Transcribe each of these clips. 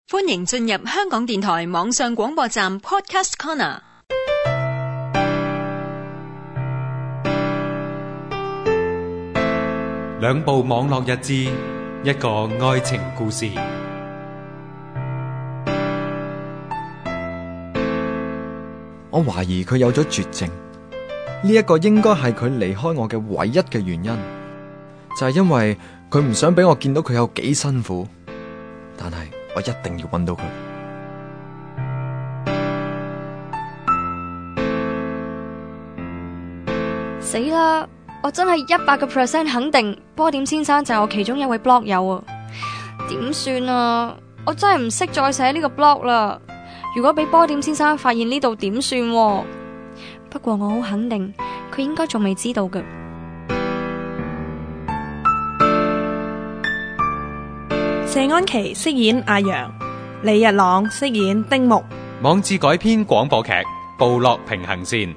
歡迎進入香港電台網上廣播站 Podcast Corner。 兩部網絡日誌，一個愛情故事。 我懷疑佢有咗絕症，呢一個應該係佢離開我嘅唯一嘅原因，就係因為佢唔想俾我見到佢有幾辛苦。但係我一定要揾到佢。 死啦！我真係100% 肯定波點先生就係我其中一位 blog 友啊！點算啊？我真係唔識再寫呢個 blog 啦！如果俾波點先生發現呢度點算？不過我好肯定佢應該仲未知道嘅。 謝安琪飾演阿陽，李日朗飾演丁木。 網誌改編廣播劇《部落平衡線》。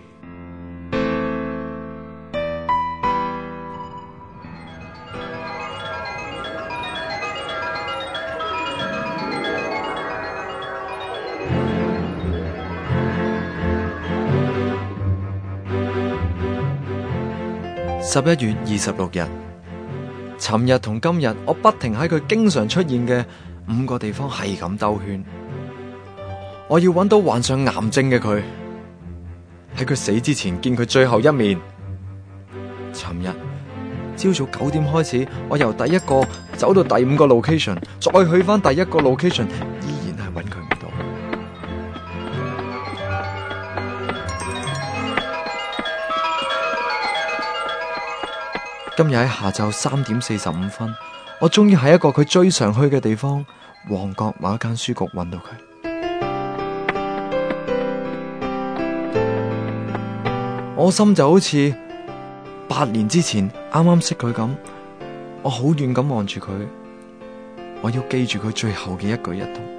11月26日，尋日同今日，我不停喺佢經常出現嘅5個地方係咁兜圈。我要揾到患上癌症嘅佢，喺佢死之前見佢最後一面。尋日朝早9點開始，我由第一個走到第5個 location， 再去翻第一個 location， 依然係揾佢唔到。今日喺下晝3點45分，我終於喺一個佢最常去嘅地方——旺角某一間書局揾到佢。我心就好似8年之前啱啱識佢咁，我好遠咁望住佢，我要記住佢最後嘅一舉一動。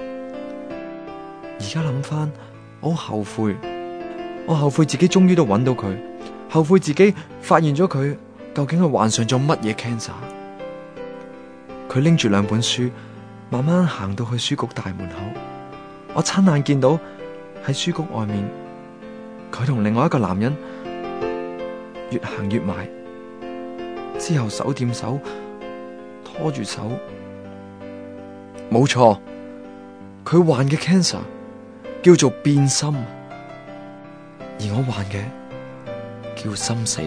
而家諗翻，我好後悔，我後悔自己終於都揾到佢，後悔自己發現咗佢究竟係患上咗乜嘢 cancer。佢拎住2本書，慢慢行到去書局大門口，我親眼見到喺書局外面，佢同另外一個男人越行越埋，之後手掂手，拖住手。冇錯，佢患嘅 cancer 叫做變心，而我患嘅叫心死。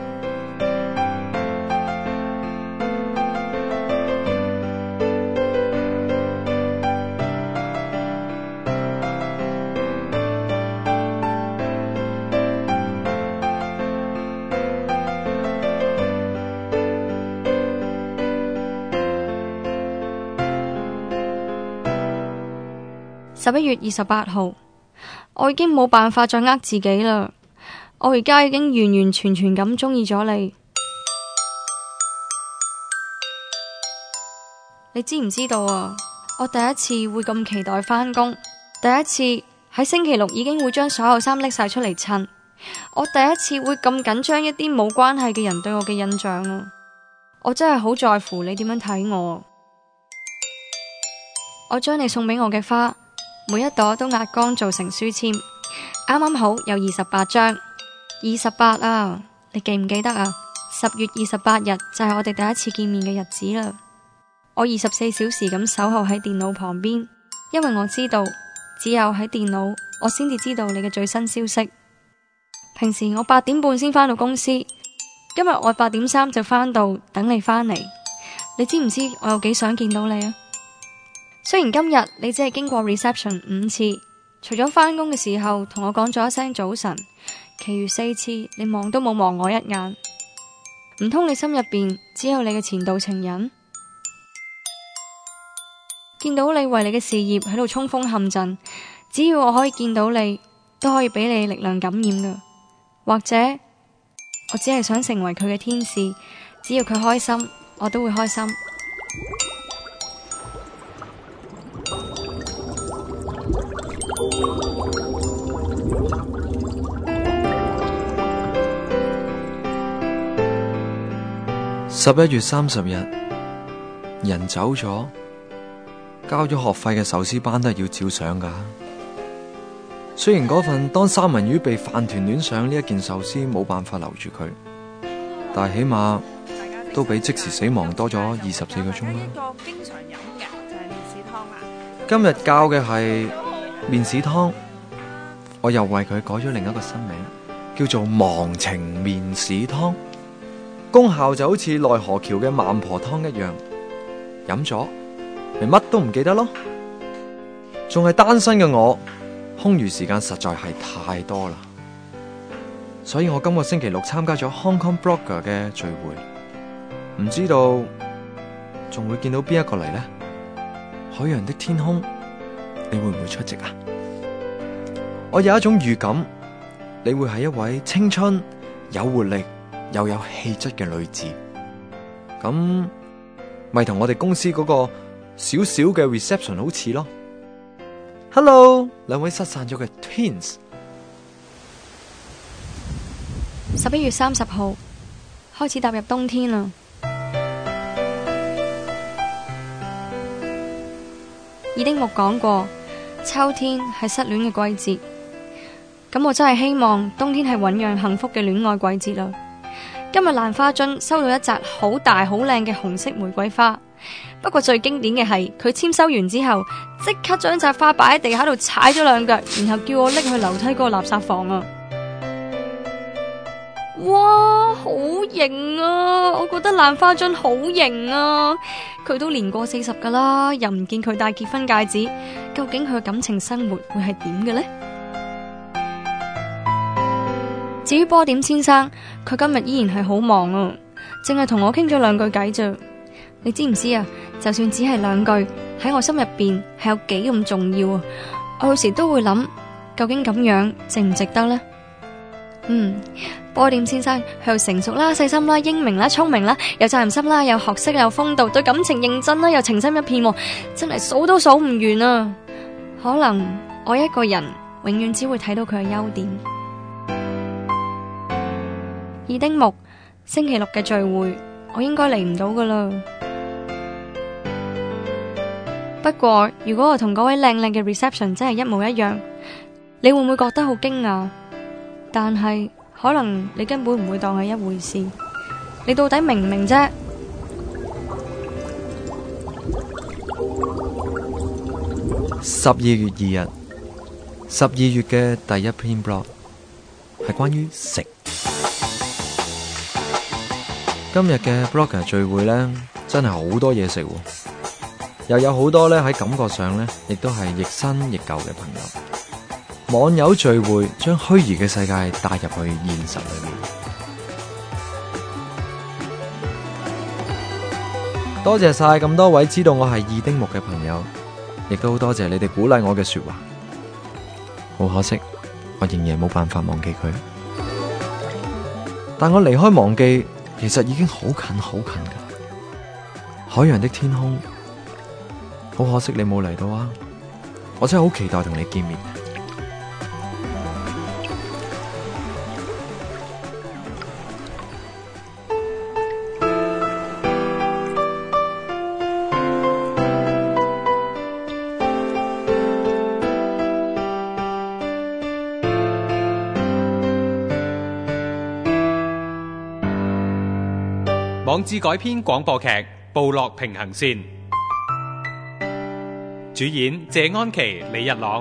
11月28號，我已經冇辦法再呃自己啦。我而家已經完完全全咁中意咗你。你知唔知道啊？我第一次會咁期待返工，第一次喺星期六已經會將所有衫拎晒出嚟襯。我第一次會咁緊張一啲冇關係嘅人對我嘅印象啊！我真係好在乎你點樣睇我。我將你送俾我嘅花，每一朵都壓乾做成書籤，啱啱好有28張。28啊，你記唔記得啊？10月28日就係我哋第一次見面嘅日子啦。我24小時咁守候喺電腦旁邊，因為我知道只有喺電腦我先至知道你嘅最新消息。平時我8點半先返到公司，今日我8點3就返到等你返嚟。你知唔知我有幾想見到你啊？雖然今日你只係經過 reception 5次，除咗返工嘅時候同我講咗一聲早晨，其餘4次你望都冇望我一眼。唔通你心入邊只有你嘅前度情人？見到你為你嘅事業喺度衝鋒陷陣，只要我可以見到你，都可以俾你力量感染噶。或者我只係想成為佢嘅天使，只要佢開心，我都會開心。 11月30日，人走咗， 交咗學費嘅壽司班都係要照上噶。雖然嗰份當三文魚被飯團戀上呢一件壽司冇辦法留住佢，但係起碼都比即時死亡多咗24個鐘啦。 一個經常飲嘅就係麵豉湯啦。 今日教嘅係麵豉湯，我又為佢改咗另一個新名，叫做忘情麵豉湯。功效就好似奈何橋嘅孟婆湯一樣，飲咗咪乜都唔記得咯。仲係單身嘅我，空餘時間實在係太多啦，所以我今個星期六參加咗 Hong Kong Blogger 嘅聚會，唔知道仲會見到邊一個嚟呢？海洋的天空，你會唔會出席啊？我有一種預感，你會係一位青春、有活力又有氣質嘅女子，咁咪同我哋公司嗰個小小嘅 reception 好似咯。Hello， 兩位失散咗嘅 twins。 11月30號開始踏入冬天啦。爾丁木講過，秋天係失戀嘅季節，咁我真係希望冬天係醞釀幸福嘅戀愛季節啦。今日蘭花樽收到一紮好大好靚嘅紅色玫瑰花，不過最經典嘅係佢簽收完之後，即刻將紮花擺喺地下度踩咗兩腳，然後叫我拎去樓梯嗰個垃圾房啊！哇，好型啊！我覺得蘭花樽好型啊！佢都年過40噶啦，又唔見佢戴結婚戒指，究竟佢嘅感情生活會係點嘅呢？至於波點先生，佢今日依然係好忙啊，淨係同我傾咗兩句偈咋。你知唔知啊？就算只係兩句，喺我心入邊係有幾咁重要啊！我有時都會諗，究竟咁樣值唔值得呢？波點先生佢又成熟啦、細心啦、英明啦、聰明啦、有責任心啦、有學識、有風度，對感情認真啦，又情深一片，真係數都數唔完啊！可能我一個人永遠只會睇到佢嘅優點。爾丁木星期六嘅聚會，我應該嚟唔到噶啦。不過如果我同嗰位靚靚嘅 reception 真係一模一樣，你會唔會覺得好驚訝？但係可能你根本唔會當係一回事。你到底明唔明啫 ？12月2日，12月嘅第一篇 blog 係關於食。今日嘅 blogger 聚會呢，真係好多嘢食喎，又有好多呢喺感覺上呢，亦都係亦新亦舊嘅朋友。網友聚會將虛擬嘅世界帶入去現實裏面。多謝晒咁多位知道我係二丁目嘅朋友，亦都好多謝你哋鼓勵我嘅說話。好可惜，我仍然冇辦法忘記佢。但我離開忘記，其實已經好近好近噶。海洋的天空，好可惜你冇嚟到啊！我真係好期待同你見面。 網誌改編廣播劇《部落平衡線》，主演謝安琪、李日朗，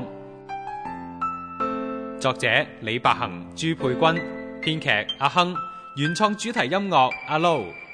作者李百行、朱佩君，編劇阿亨，原創主題音樂阿 Low。